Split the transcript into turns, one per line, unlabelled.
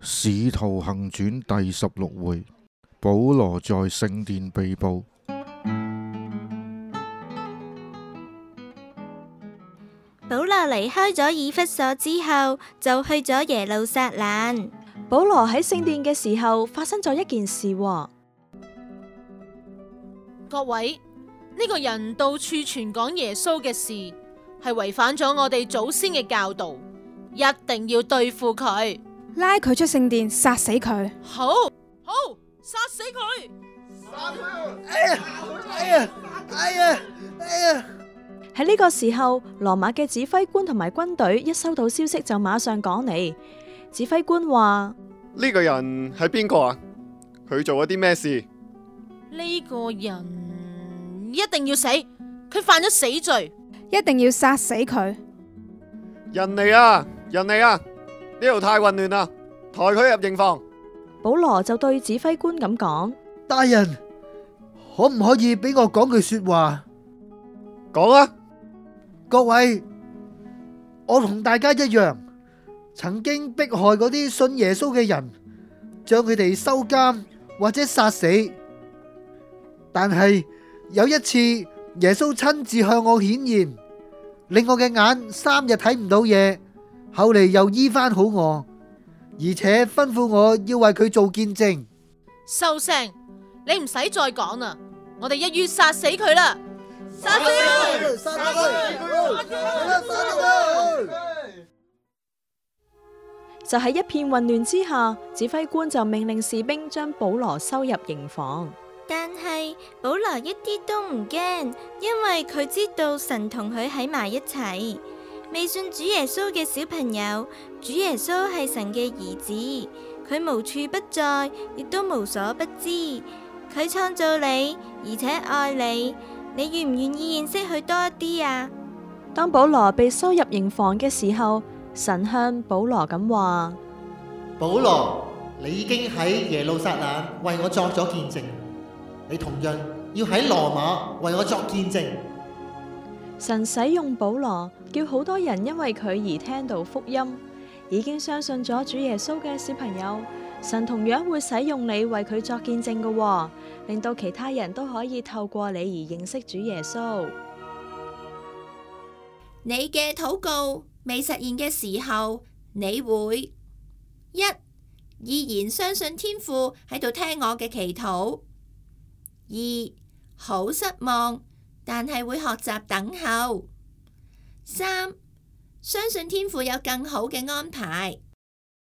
使徒行傳第16回，保羅在聖殿被捕。
保羅離開咗以弗所之後，就去咗耶路撒冷。
保羅喺聖殿嘅時候，發生咗一件事喎。
各位，呢個人到處傳講耶穌嘅事，係違反咗我哋祖先嘅教導，一定要對付佢，
拉佢出聖殿，殺死佢。
好，殺死佢！
喺呢個時候，羅馬嘅指揮官同埋軍隊一收到消息就馬上趕嚟。指揮官話：
呢個人係邊個啊？佢做咗啲咩事？
呢個人一定要死，佢犯咗死罪，
一定要殺死佢。
人嚟啊！人嚟啊！呢度太混亂啦，抬佢入營房。
保羅就對指揮官咁講：
大人，可唔可以俾我講句說話？
講啊！
各位，我同大家一樣，曾經迫害嗰啲信耶穌嘅人，將佢哋收監或者殺死。但係有一次，耶穌親自向我顯現，令我嘅眼3日睇唔到嘢，後嚟又醫翻好我，而且吩咐我要為佢做見證。
收聲！你唔使再講啦，我哋一於殺死佢啦！殺死佢！
殺佢！
就喺一片混亂之下，指揮官就命令士兵將保羅收入營房。
但係保羅一啲都唔驚，因為佢知道神同佢喺埋一齊。未信主耶穌嘅小朋友，主耶穌係神嘅兒子，佢無處不在，亦都無所不知。佢創造你，而且愛你，你願唔願意認識佢多一啲啊？
當保羅被收入營房嘅時候，神向保羅咁話：
保羅，你已經喺耶路撒冷為我作咗見證，你同樣要喺羅馬為我作見證。
神使用保羅，叫好多人因為佢而聽到福音，已經相信咗主耶穌嘅小朋友，神同樣會使用你為佢作見證嘅，令到其他人都可以透過你而認識主耶穌。
你嘅禱告未實現嘅時候，你會依然相信天父喺度聽我嘅祈禱；2好失望，但係會學習等候；3相信天父有更好嘅安排。